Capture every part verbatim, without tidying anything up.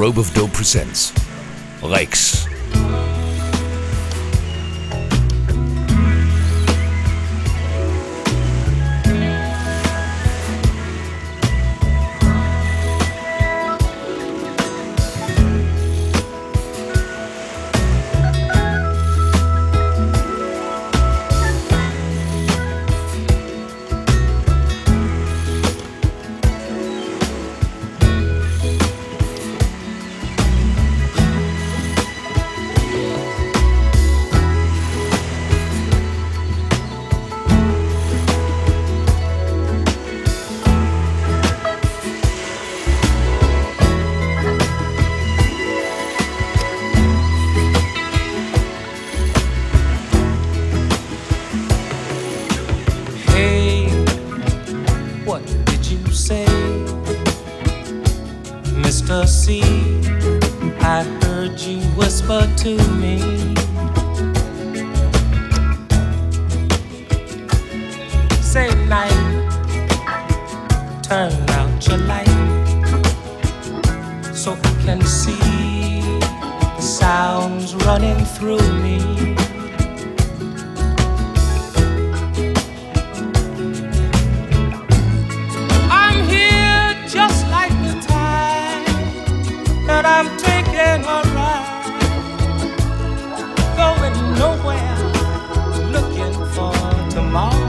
Rope of Dope presents Rex. Mister C, I heard you whisper to me. Say night, turn out your light, so I can see the sounds running through me. I'm taking a ride, going nowhere, looking for tomorrow.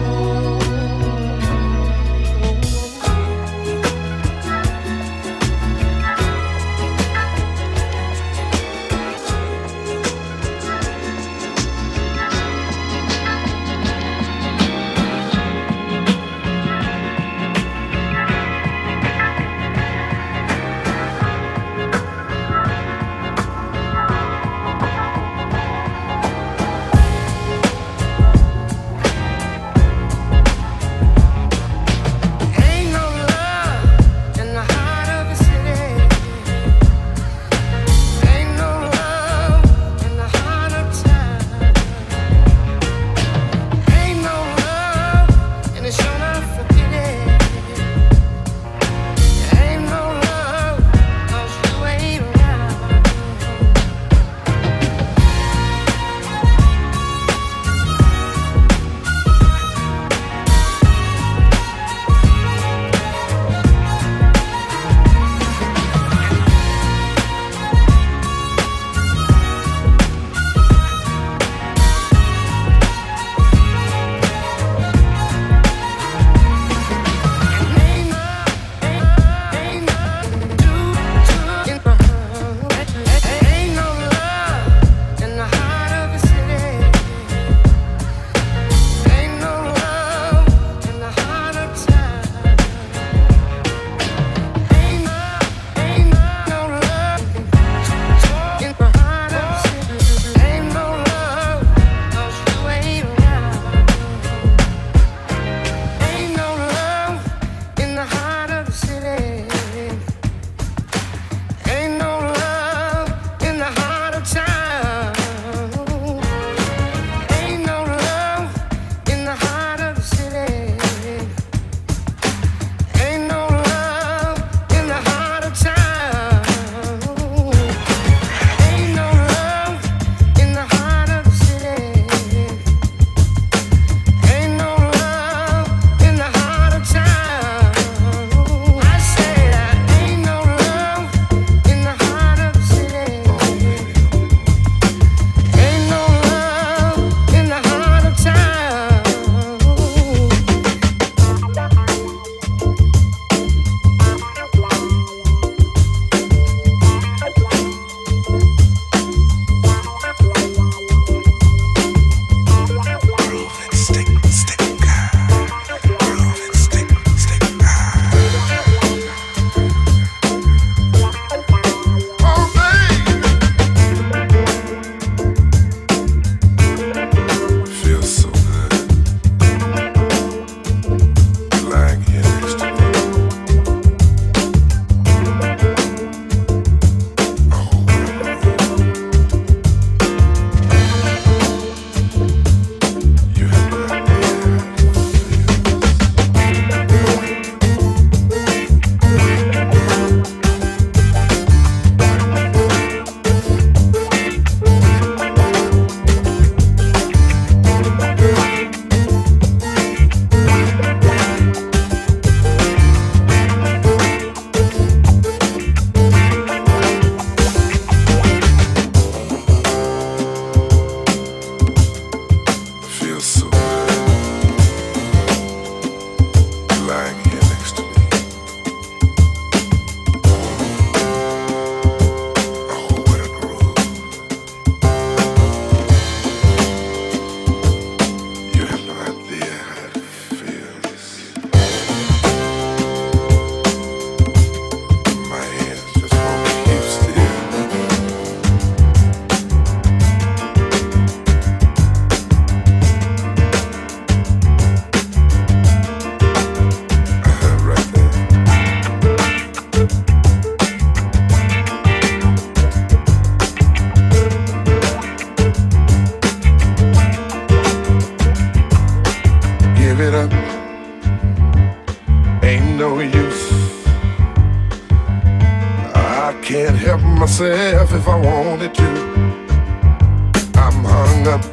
myself if I wanted to. I'm hung up,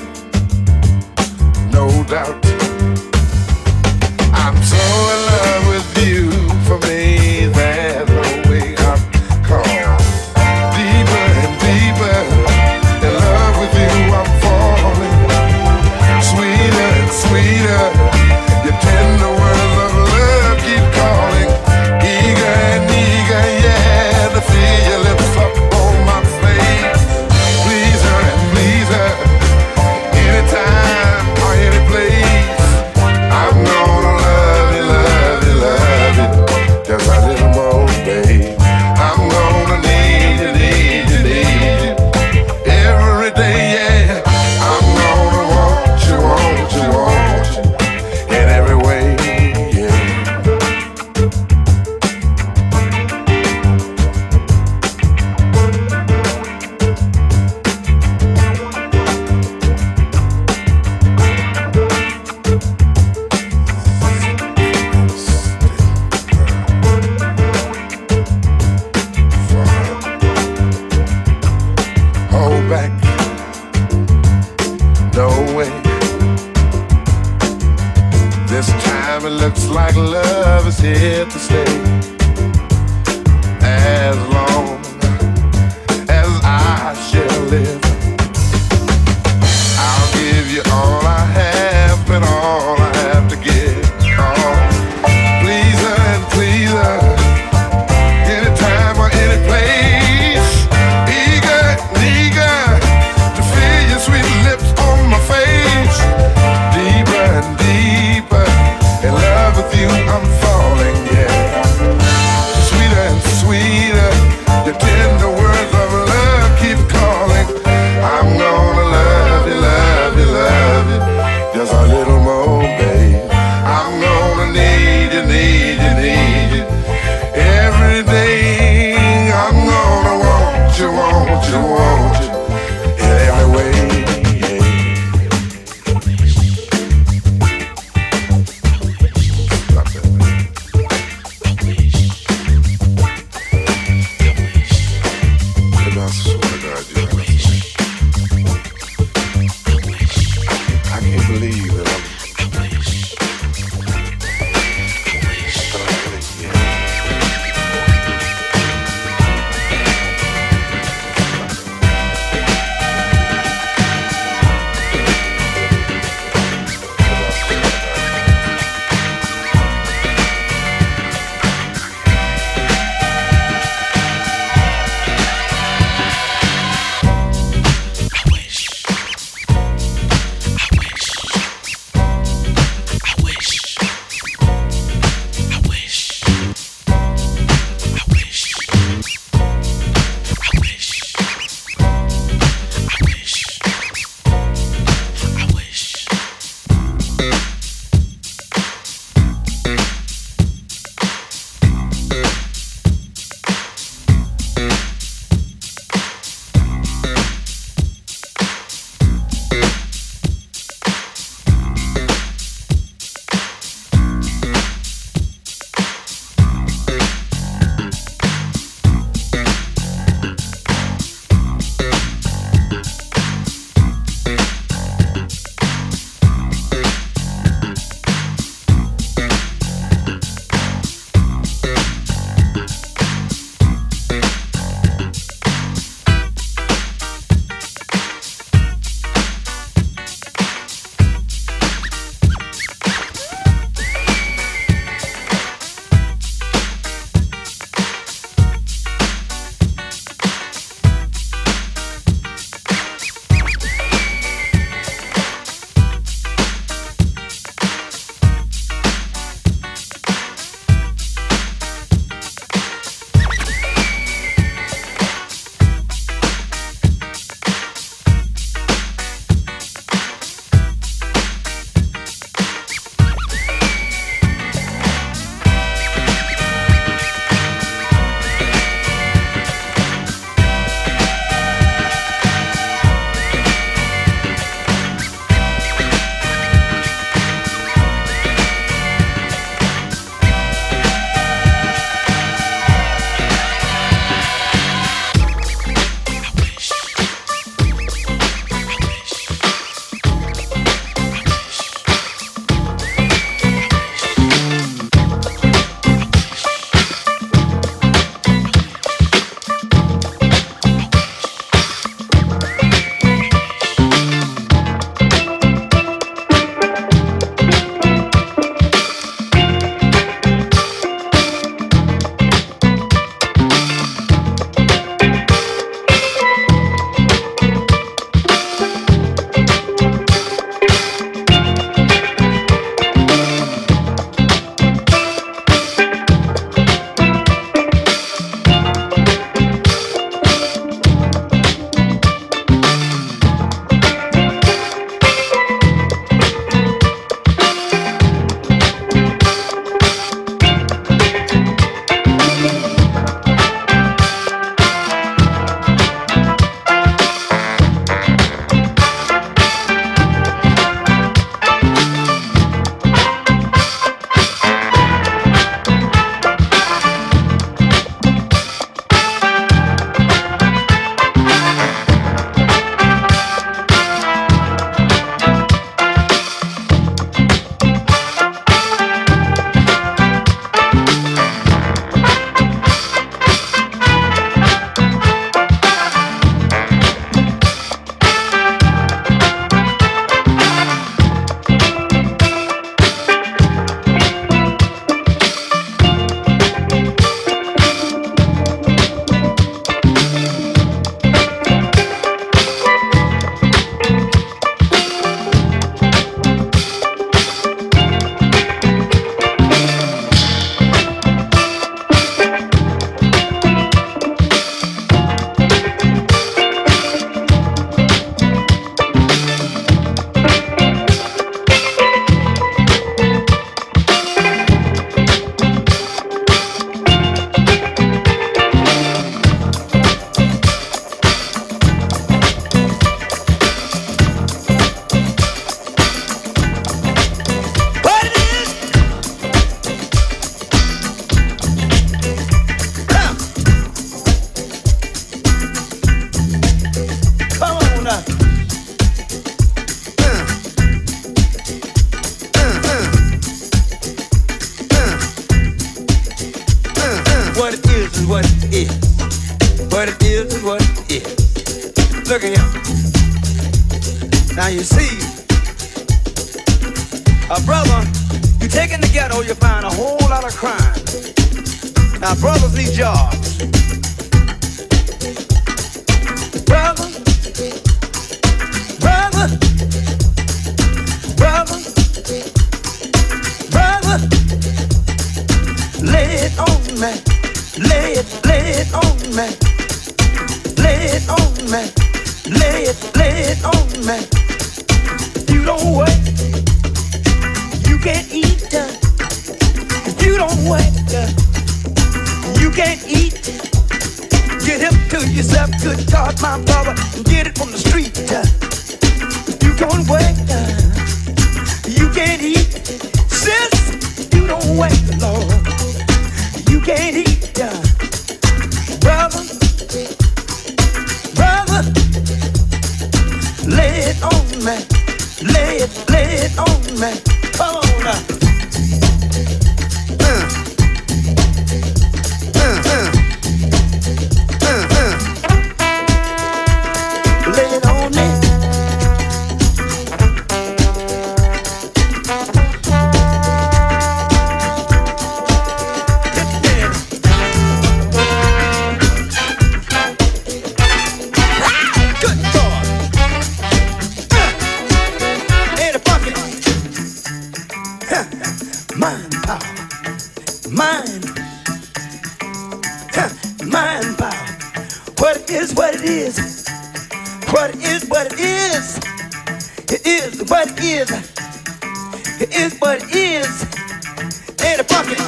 no doubt. I'm so in love with you. For me, there's no way out. Call deeper and deeper. In love with you, I'm falling. Sweeter and sweeter. Your tender words of love keep calling. Eager and eager, yeah, to feel your lips up on my face. Please her and please her. Anytime or any place. I'm gonna love you, love you, love you. Just a little more, babe. I'm gonna need you, need you, need you. Every day, yeah. I'm gonna want you, want you, want you. In every way, yeah. Hold back, no way. This time it looks like love is here to stay. As long as I shall live, I'll give you all I have and all I have to give. Oh, please her and please her. Anytime or any place. Eager, eager to feel your sweet lips on my face. Deeper and deeper in love with you, I'm falling, yeah. Sweeter and sweeter, your tender words of love keep calling. I'm gonna love you, love you, love you. Just a little more, babe. I'm gonna need you, need you, need you. Every day I'm gonna want you, want you, want you. In every way, yeah. Stop that, man. And I swear to God, you know, I can't believe that I'm but I really, yeah. What it is is what it is. Look at him. Now you see, a brother, you take in the ghetto, you find a whole lot of crime. Now brothers need jobs. Brother, brother, brother, brother, lay it on me, lay it, lay it on me, lay it on me, lay it, lay it on me. You don't work, you can't eat. If you don't work, you can't eat. Get hip to yourself, good God, my brother, and get it from the street. You don't work, you can't eat. Sis, you don't work, Lord, you can't eat. Brother, brother, lay it on me, lay it, lay it on me. Come on now. Uh. Uh, uh. Lay it on me. Good God. In the bucket. Mind power. Mind. Mind power. What it is, what it is. What it is, what it is. It is what it is. It is what it is. In the bucket.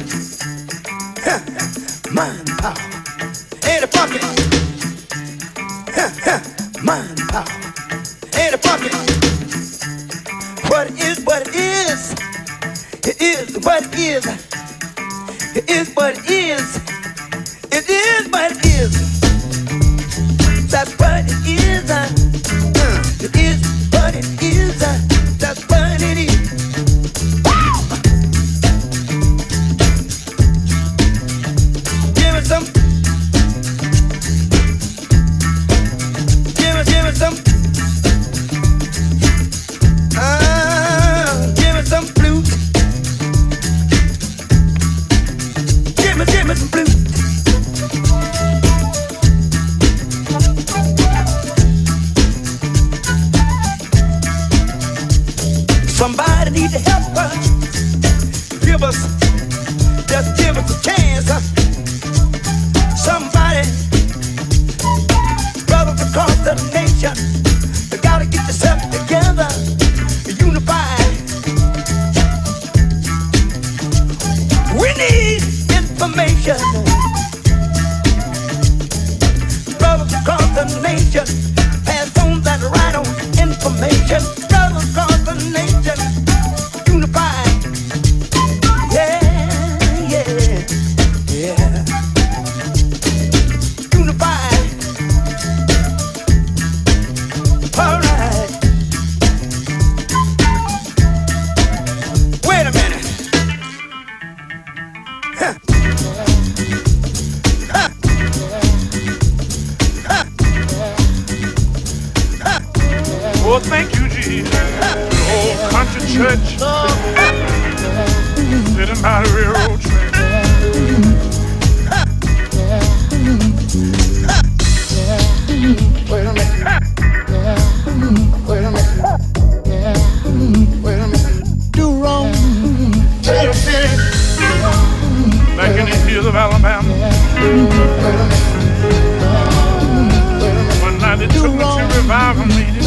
Mind power. In the bucket. Mind power. In the bucket. What it is, what it is. It is what it is. It is what it is. It is what it is. That's what it is. Uh, it is what it is. Uh, that's what it is. Woo! Give me some. Give me, give me some. Uh, give me some flute. Give me, give me some flute. Somebody need to help us. Give us, just give us a chance. Huh? Somebody, brothers across the nation, you gotta get yourself together, unified. We need information. Brothers across the nation, pass on that right on information. Brothers across the nation, unified. Yeah, yeah, yeah. Unified. All right. Wait a minute. Huh. Huh. Huh. Huh. Oh, thank you, Jesus. Old country church, sitting by the railroad track. Wait a minute. Wait a minute. Wait a minute. Do wrong. Tennessee, back in the hills of Alabama. One night they took me to revival meeting.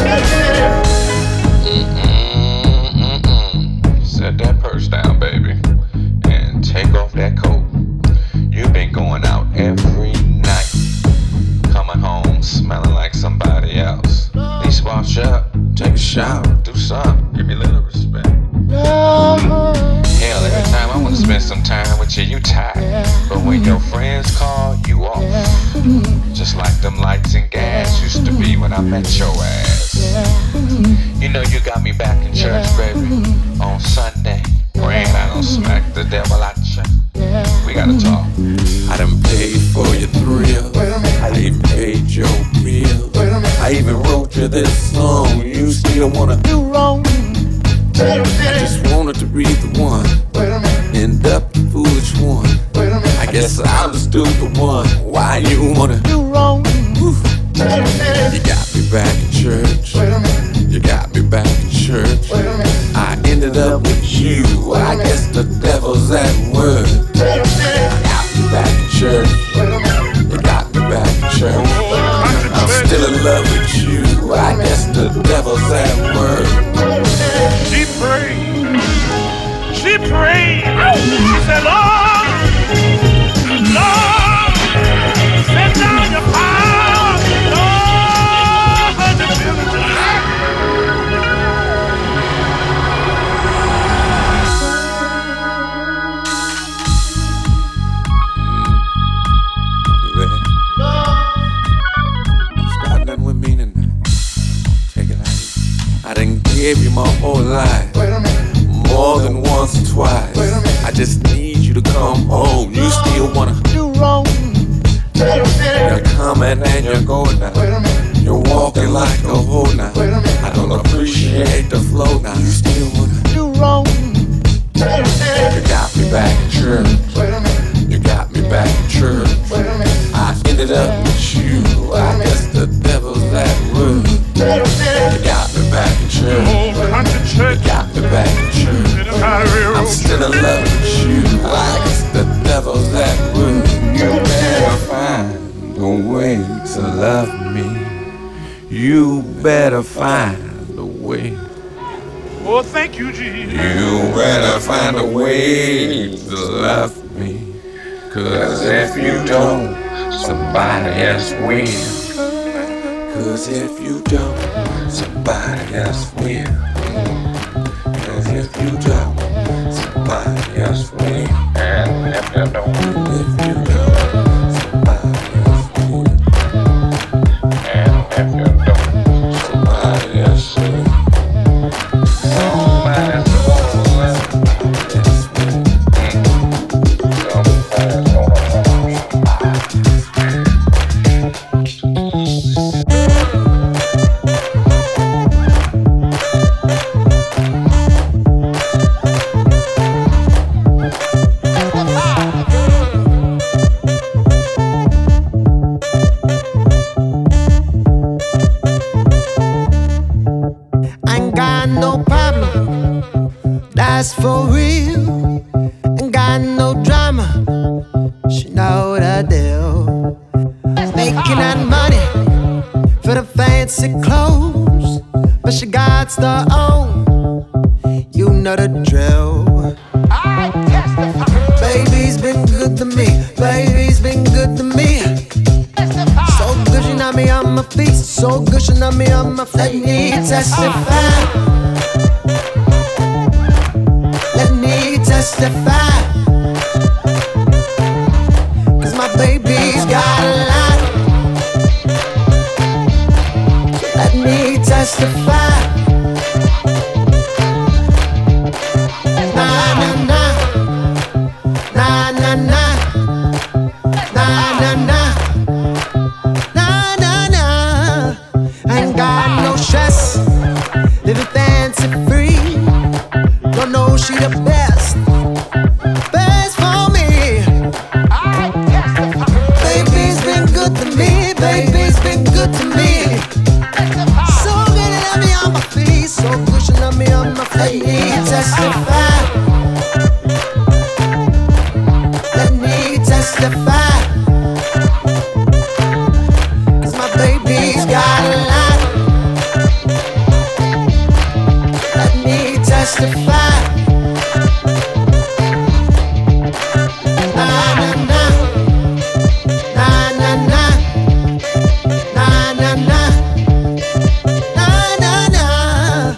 Set that purse down, baby, and take off that coat. You've been going out every night, coming home smelling like somebody else. Please wash up, take a shower, do something, give me a little respect. Hell, every time I wanna spend some time with you, you tired. But when your friends call, you off. Just like them lights and gas used to be when I met your ass. You know you got me back in church, baby, on Sunday, praying I don't smack the devil out ya. We gotta talk. I done paid for your thrill. I even paid your bill. I even wrote you this song. You still wanna do wrong? I just wanted to be the one. End up the foolish one. I guess I'm the stupid one. Why you wanna do wrong? Woo. You got me back in church. You got me back in church. I ended up with you. I guess the devil's at work. I got me back in church. You got me back in church. I'm still in love with you. I guess the devil's at work. She prayed. She prayed. She said, Lord, Lord, send down your power. Lord, to fill the light. Start nothing with me tonight. Take it out. I done gave you my whole life. More than once or twice. I just need you to come home. You still wanna do wrong? You're coming and you're going now. You're walking like a hoe now. I don't appreciate the flow now. You still wanna do wrong? You got me back in church. You got me back in church. I ended up with you. I guess the devil's at work. You got me back in church. You got me back in church. I'm still in love with you. I guess the devil's at work. You better find a way to love me. You better find a way. Oh, thank you, Jesus. You better find a way to love me. Cause if you don't, somebody else will. Cause if you don't, somebody else will. Cause if you don't, somebody else will. And if you don't, if you don't, somebody else will. And if you don't, somebody else will. Somebody else will. For real, ain't got no drama. She know what I do. Making that money for the fancy clothes, but she got her own. You know the drill. I testify. Baby's been good to me. Baby's been good to me. So good she knocked me on my feet. So good she knocked me on my feet. Let me testify. Testify, cause my baby's got a lot. So let me testify. Nah, nah, nah. Nah, nah, nah. Nah, nah, nah. Nah, nah, nah. I ain't got no stress. Living fancy free. Don't know she the best. Let me testify. Let me testify. Cause my baby's got a lot. Let me testify. Nah, nah, nah. Nah, nah, nah. Nah, nah, nah. Nah, nah, nah.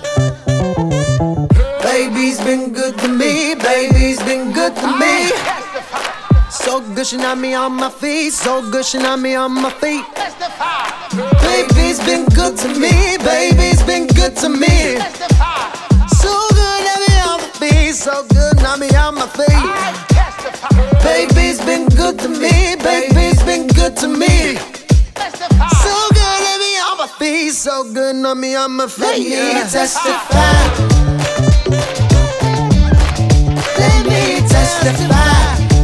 Baby's been good to me, baby's been good to me. So good she knocked me on my feet, so good she knocked me on my feet. Baby's been good to me, baby's been good to me. So good knocked me on my feet, so good knocked me on my feet. Baby's been good to me, baby's been good to me. so good on me, I'm a fake. Let me testify. Let me testify.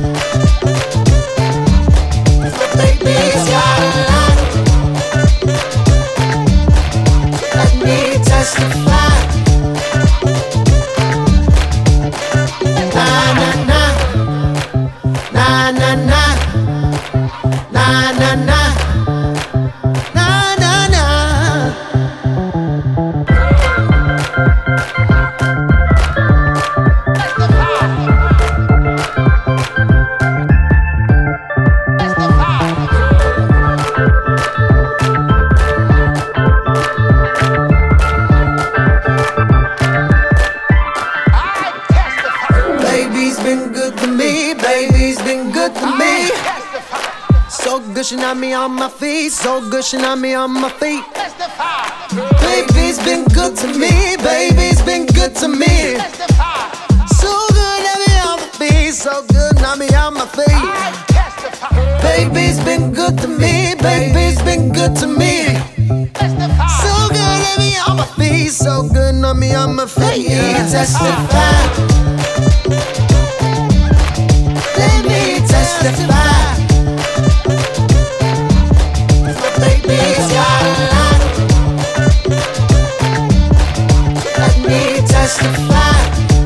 Baby's got a lot. Let me testify. Na na na, na na na, na na na. Gushing on me on my feet, so gushing on me on my feet. Baby's been good to me, baby's been good to me. So good on me on my feet, so good on me on my feet. Baby's been good to me, baby's been good to me. So good on me on my feet, so good on me on my feet. Testify. Let me testify. Baby's got a lot. Let me testify.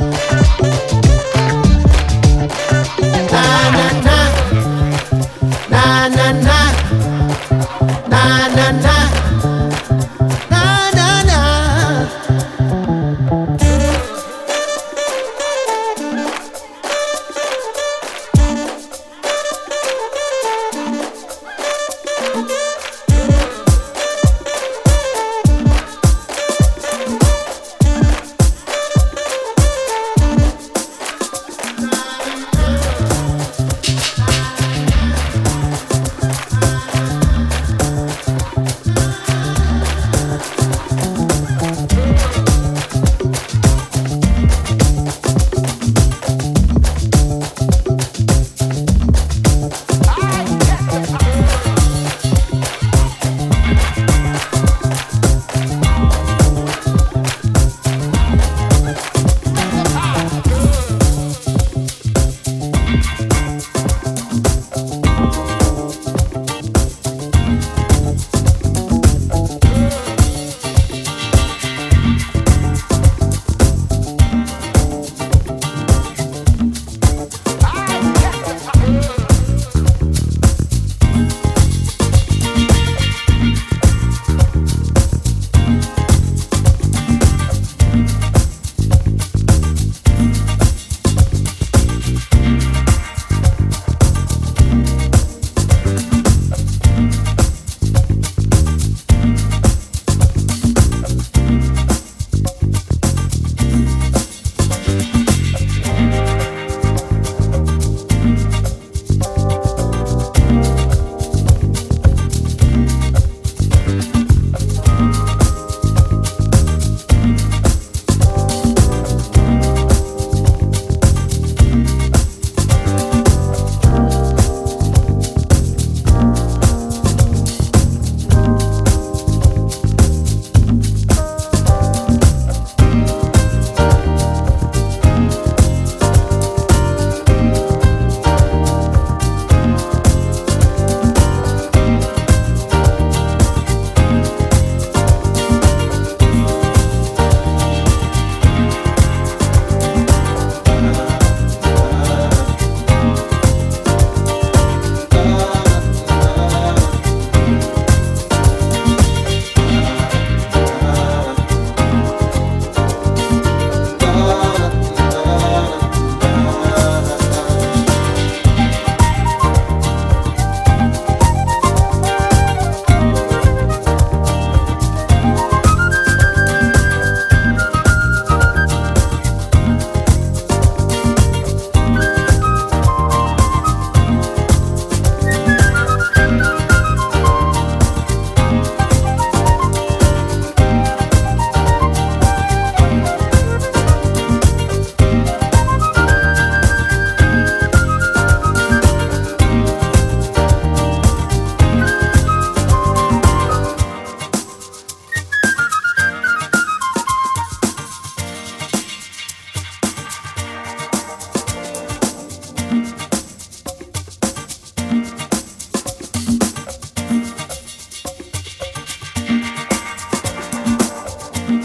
Na na na, na na na, na na na, na na na.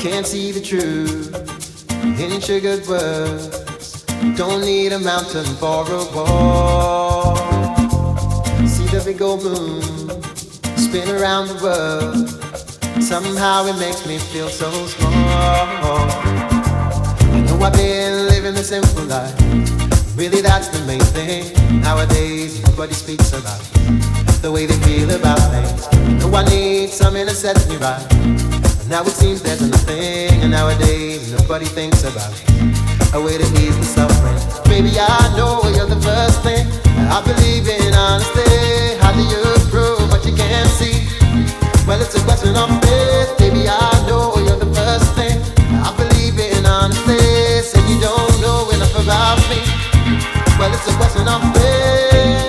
can't see the truth in sugared words. Don't need a mountain for a wall. See the big old moon spin around the world. Somehow it makes me feel so small. I know I've been living the simple life. Really that's the main thing. Nowadays nobody speaks about the way they feel about things. I know I need something to set me right. Now it seems there's nothing, and nowadays nobody thinks about a way to ease the suffering. Baby, I know you're the first thing I believe in, honestly. How do you prove what you can't see? Well, it's a question of faith. Baby, I know you're the first thing I believe in, honestly. Say you don't know enough about me. Well, it's a question of faith.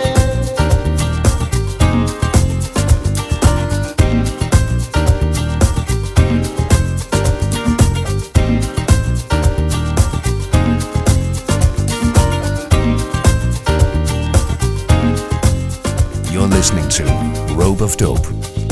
Listening to Rope of Dope.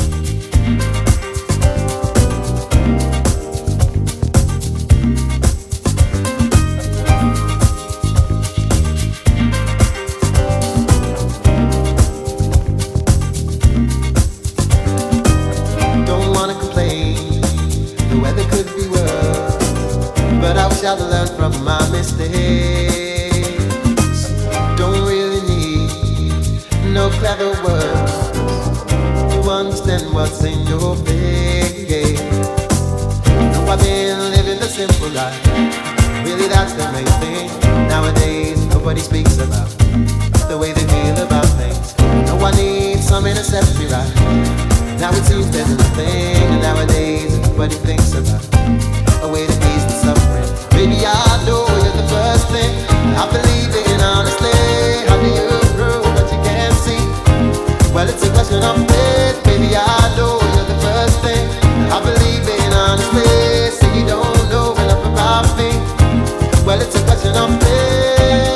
Don't wanna complain, the weather could be worse, but I wish I'd learned from my mistakes. Don't really need no clever words to understand what's in your face. Know I've been living the simple life. Really, that's the main thing. Nowadays, nobody speaks about the way they feel about things. Know I need something to set me right. Now it seems there's nothing, and nowadays nobody thinks about a way to ease the suffering. Baby, I know you're the first thing I believe in, honestly. How do you prove what you can't see? Well, it's a question of faith. Baby, I know you're the first thing I believe in, honestly. Say you don't know enough about me. Well, it's a question of faith.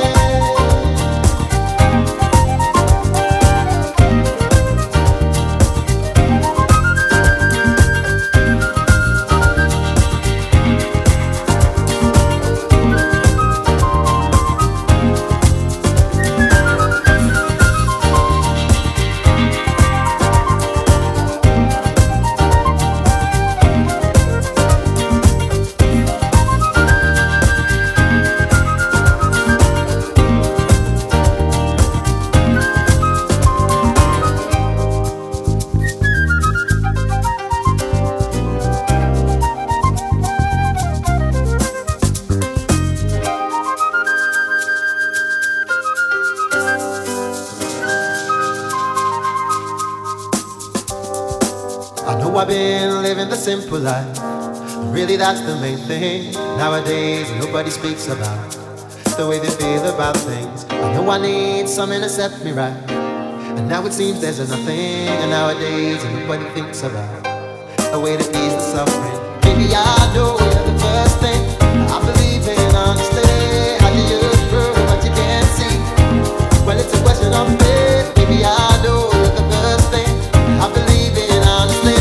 I've been living the simple life. Really, that's the main thing. Nowadays, nobody speaks about the way they feel about things. I know I need something to set me right. And now it seems there's nothing. And nowadays, nobody thinks about a way to ease the suffering. Baby, I know you're the first thing I believe in, honestly. How do you prove what you can't see? Well, it's a question of faith. Baby, I know you're the first thing I believe in, honestly.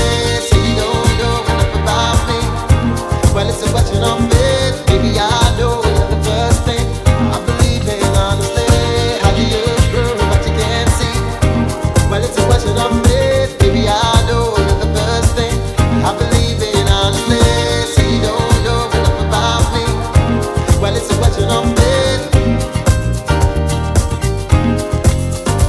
Well, it's a question of faith. Baby, I know you're the first thing I believe in, honestly. How do you prove what you can't see? Well, it's a question of faith. Baby, I know you're the first thing I believe in, honestly. Say you don't know enough about me. Well, it's a question of faith.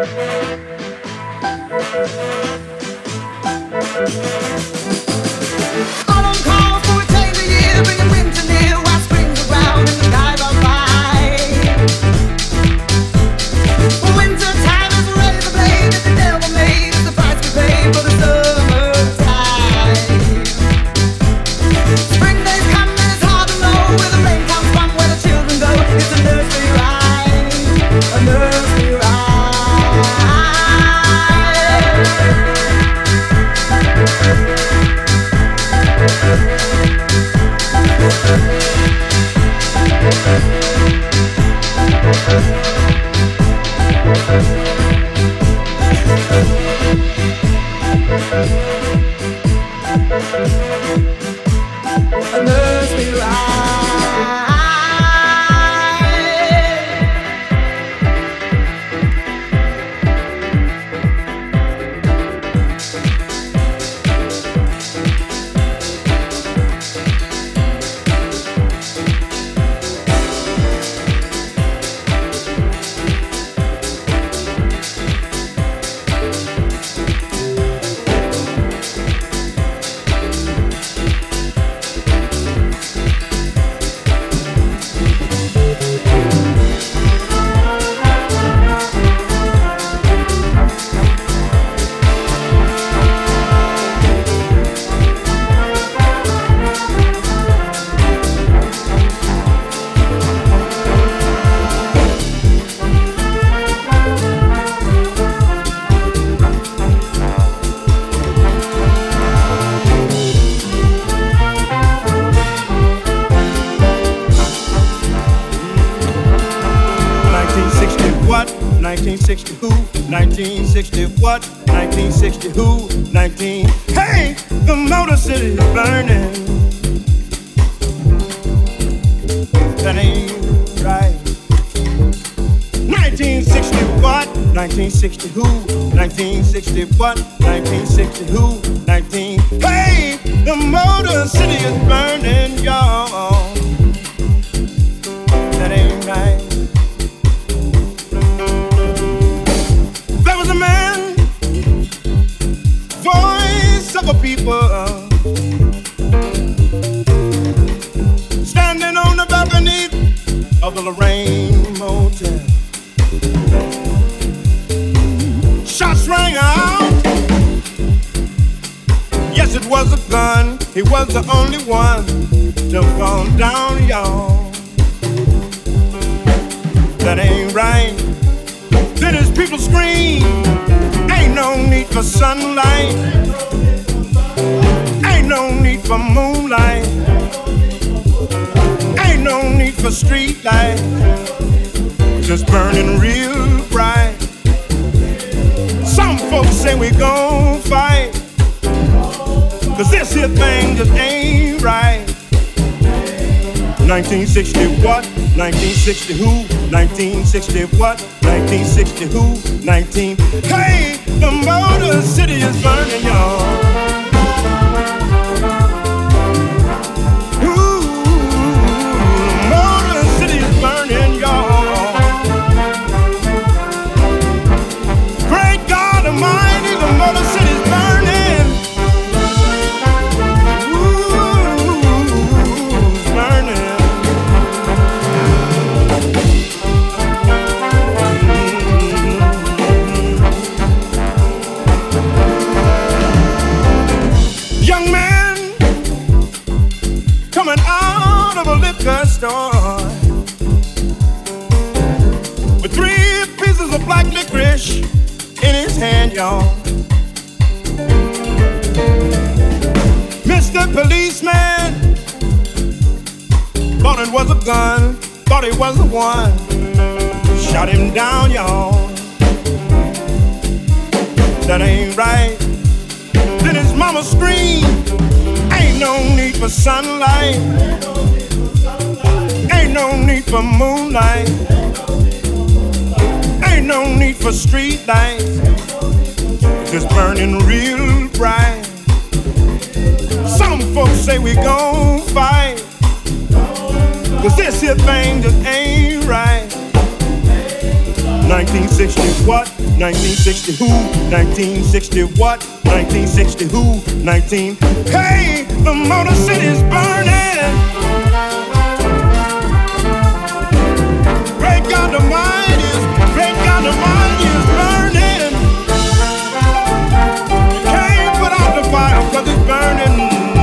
nineteen sixty who? nineteen sixty what? nineteen sixty who? nineteen Hey, the Motor City is burning. That ain't right. nineteen sixty what? nineteen sixty who? nineteen sixty what? nineteen sixty who? nineteen Hey, the Motor City is burning, y'all. That ain't right. There was a man, voice of a people, standing on the balcony of the Lorraine Motel. Shots rang out. Yes, it was a gun. He was the only one to fall down, y'all. That ain't right. Then his people scream, ain't no need for sunlight, ain't no need for moonlight, ain't no need for street light, just burning real bright. Some folks say we gon' fight, cause this here thing just ain't right. nineteen sixty what? nineteen sixty who? nineteen sixty what? nineteen sixty who? nineteen Hey, the Motor City is burning, y'all. Store with three pieces of black licorice in his hand, y'all. Mister Policeman thought it was a gun, thought it was the one, shot him down, y'all. That ain't right. Then his mama screamed, ain't no need for sunlight, ain't no need for moonlight, ain't no need for street lights, just burning real bright. Some folks say we gon' fight, cause this here thing just ain't right. nineteen sixty what? nineteen sixty who? nineteen sixty what? nineteen sixty who? nineteen. Hey, the Motor City's burning. Great God Almighty is, great God Almighty is burning. You can't put out the fire 'cause it's burning.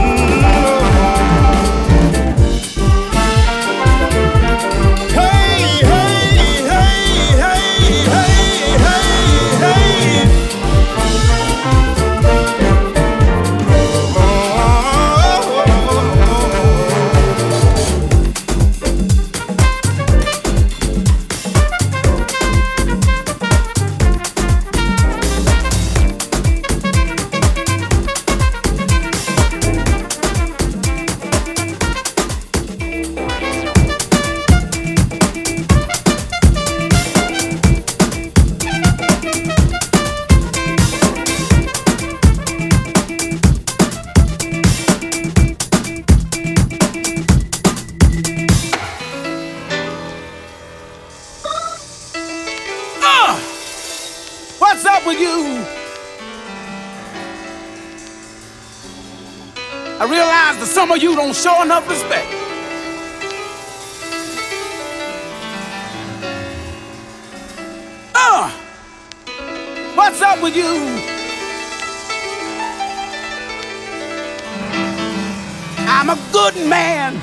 Some of you don't show enough respect. Uh, what's up with you? I'm a good man.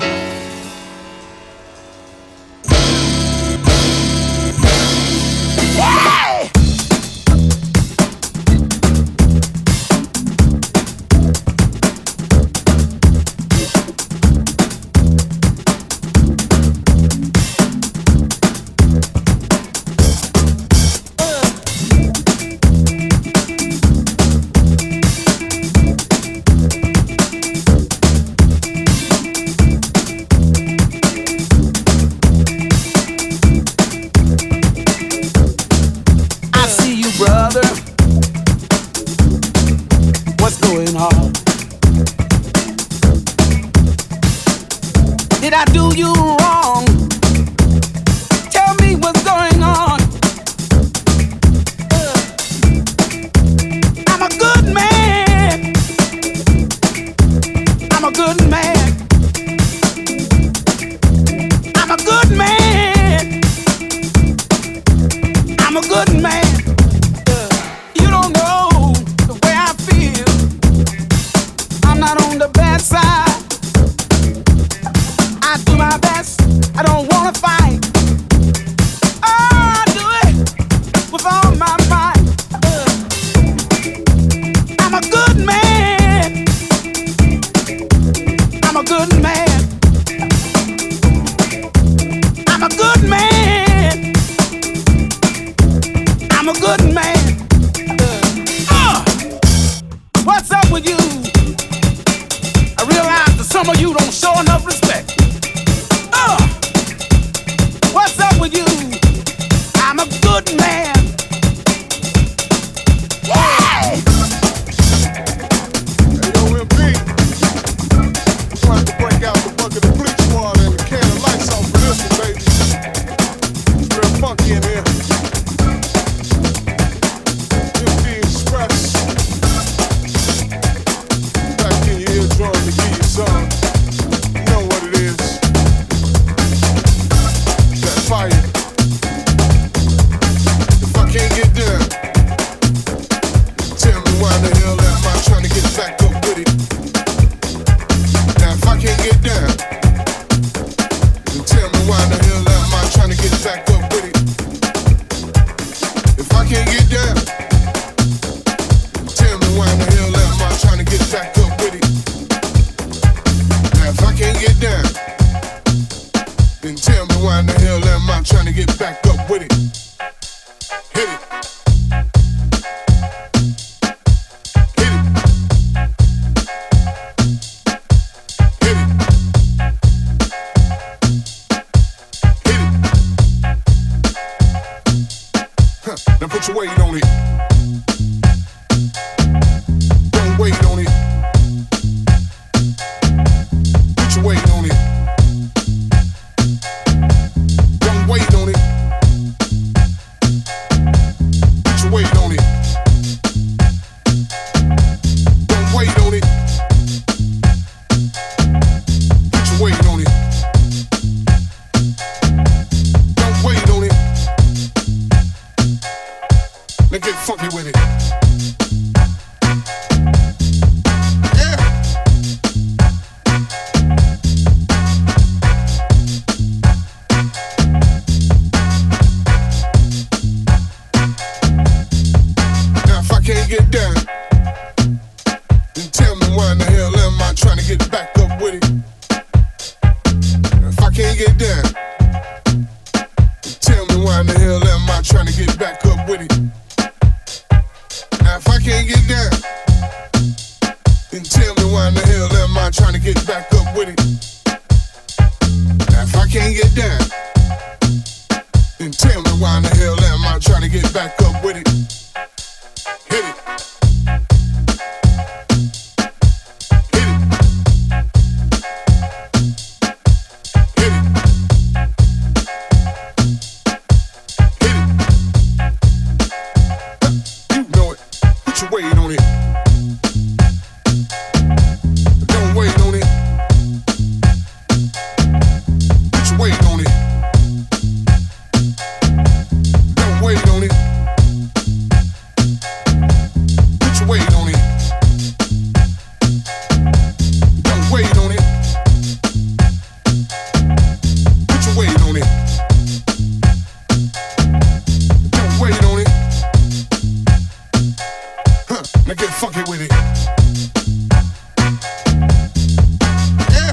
with it. Yeah. Now if I can't get down, then tell me why in the hell am I trying to get back up with it? If I can't get down, tell me why in the hell am I trying to get back up with it? Now if I can't get down, then tell me why in the hell am I trying to get back up with it? Now if I can't get down, then tell me why in the hell am I trying to get back up with it? Hit it. Wait on it. Don't wait on it. Put your weight on it. Don't wait on it. Put your weight on it. Don't wait on it. Put your weight on it. Don't wait on it. Now get funky with it. Yeah.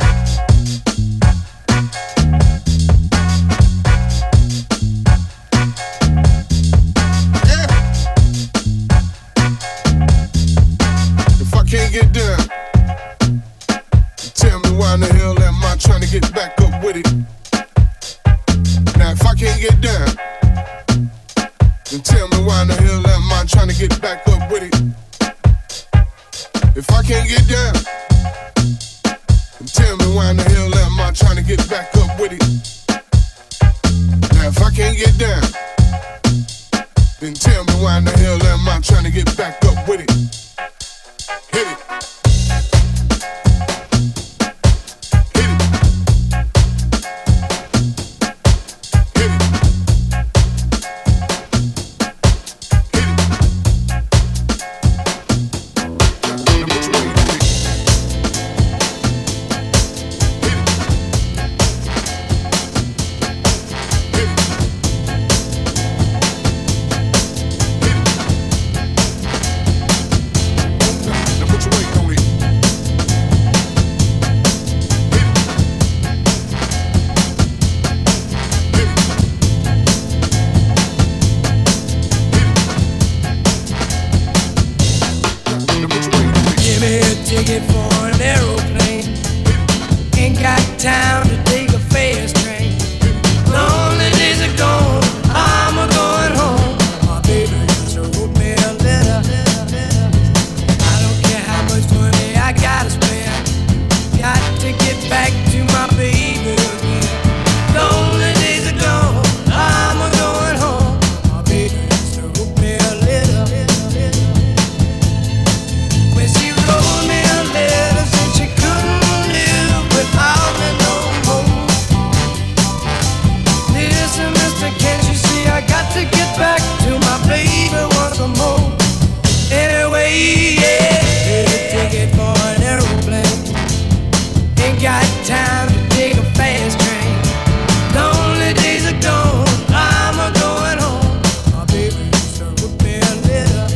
Yeah. If I can't get down, tell me why in the hell am I trying to get back up with it? Now if I can't get down, then tell me why in the hell am I trying to get back up with it? If I can't get down, then tell me why in the hell am I trying to get back up with it? Now if I can't get down, then tell me why in the hell am I trying to get back up with it? Hit it. Ticket for an aeroplane. Ain't got time to take a fast train. Lonely days are gone, I'm a going home. My baby just wrote me a letter. I don't care how much money I gotta spend. Got to get back to my baby again. Lonely days are gone, I'm a going home. My baby just wrote me a letter. When she wrote me a letter, said she couldn't live without me no more. Listen, mister, can't you see I got to get back to my baby once more? Anyway, yeah, get a ticket for an aeroplane. Ain't got time to take a fast train. Lonely days are gone, I'm a going home. My baby used to wrote me a letter.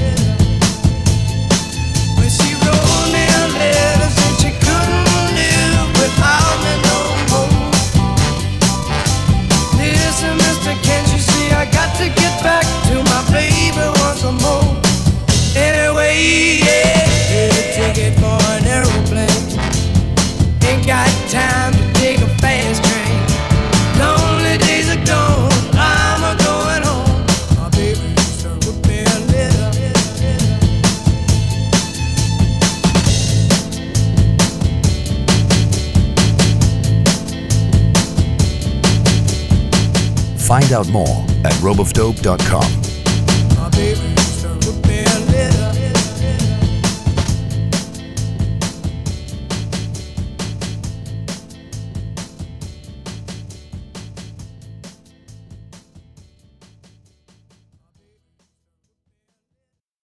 When she wrote me a letter, said she couldn't live without me no more. Listen, mister, can't you see I got to get back to my baby once more? Anyway, yeah, get a ticket for an aeroplane. Ain't got time to take a fast train. Lonely days are gone, I'm a going home. My baby used to wrote me a letter. Find out more at rope of dope dot com.